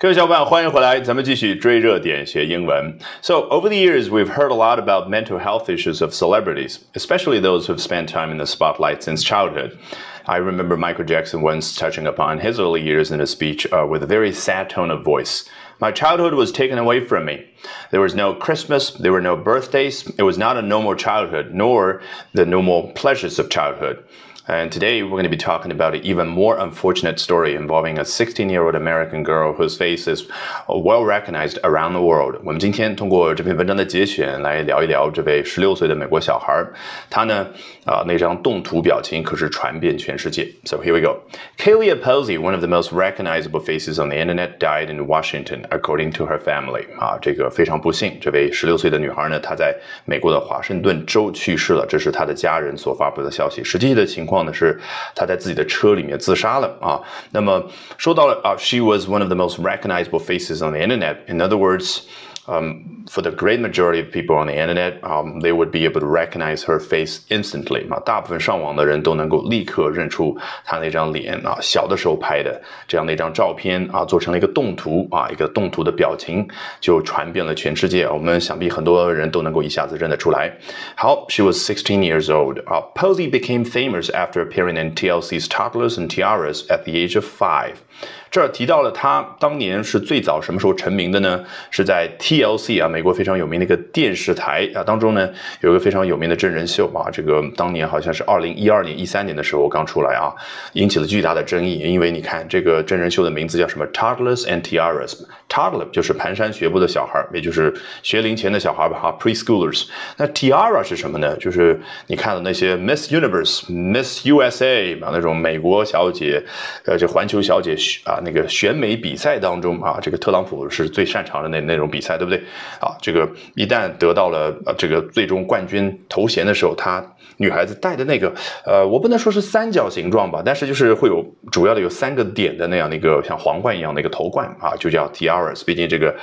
各位小伙伴，欢迎回来，咱们继续追热点学英文。So over the years, we've heard a lot about mental health issues of celebrities, especially those who've spent time in the spotlight since childhood. I remember Michael Jackson once touching upon his early years in a speech with a very sad tone of voice. My childhood was taken away from me. There was no Christmas, there were no birthdays. It was not a normal childhood, nor the normal pleasures of childhood.And today we're going to be talking about an even more unfortunate story involving a 16-year-old American girl whose face is well recognized around the world. 我们今天通过这篇文章的节选来聊一聊这位16岁的美国小孩，他呢那张动图表情可是传遍全世界。So here we go. Kaylee Posey, one of the most recognizable faces on the internet, died in Washington, according to her family. 这个非常不幸，这位16岁的女孩呢，她在美国的华盛顿州去世了，这是她的家人所发布的消息。实际的情况呢是他在自己的车里面自杀了啊。那么说到了she was one of the most recognizable faces on the internet. In other words,for the great majority of people on the internet, they would be able to recognize her face instantly. 大部分上网的人都能够立刻认出她那张脸小的时候拍的这样的一张照片做成了一个动图一个动图的表情就传遍了全世界。我们想必很多人都能够一下子认得出来。好 ，She was 16 years old. Posey became famous after appearing in TLC's Toddlers and Tiaras at the age of 5.这儿提到了他当年是最早什么时候成名的呢？是在 TLC 美国非常有名的一个电视台当中呢有一个非常有名的真人秀这个当年好像是2012年、13年的时候刚出来引起了巨大的争议，因为你看这个真人秀的名字叫什么 Toddlers and Tiaras。Toddler 就是蹒跚学步的小孩，也就是学龄前的小孩吧preschoolers。那 Tiara 是什么呢？就是你看到那些 Miss Universe、Miss USA 那种美国小姐这环球小姐那个选美比赛当中这个特朗普是最擅长的那种比赛，对不对这个一旦得到了这个最终冠军头衔的时候，她女孩子戴的那个我不能说是三角形状吧，但是就是会有主要的有3个点的那样的一个像皇冠一样的一个头冠就叫 tiaras。毕竟这个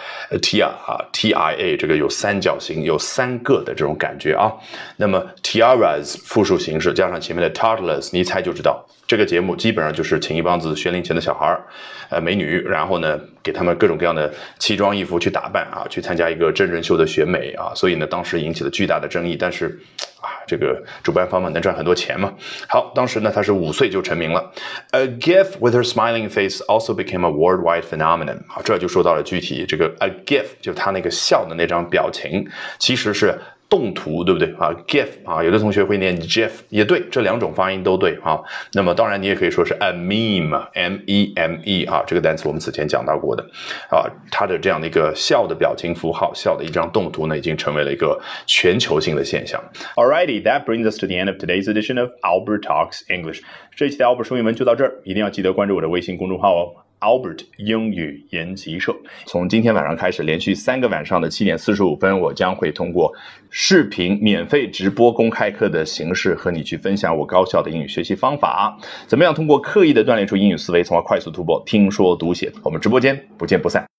TIA 这个有三角形，有3个的这种感觉那么 tiaras 复数形式加上前面的 toddlers， 你一猜就知道这个节目基本上就是请一帮子学龄前的小孩美女，然后呢给他们各种各样的奇装异服去打扮去参加一个真人秀的选美所以呢当时引起了巨大的争议，但是这个主办方们能赚很多钱嘛。好，当时呢她是5岁就成名了。A GIF with her smiling face also became a worldwide phenomenon。这就说到了具体这个 a GIF 就她那个笑的那张表情其实是动图，对不对GIF 有的同学会念 GIF 也对，这2种发音都对那么当然你也可以说是 a meme M-E-M-E 这个单词我们此前讲到过的它的这样的一个笑的表情符号，笑的一张动图呢已经成为了一个全球性的现象。Alrighty, that brings us to the end of today's edition of Albert Talks English。 这一期的 Albert 说英文就到这儿，一定要记得关注我的微信公众号Albert 英语研习社。从今天晚上开始，连续3个晚上的7点45分，我将会通过视频免费直播公开课的形式和你去分享我高效的英语学习方法，怎么样通过刻意的锻炼出英语思维，从而快速突破听说读写。我们直播间不见不散。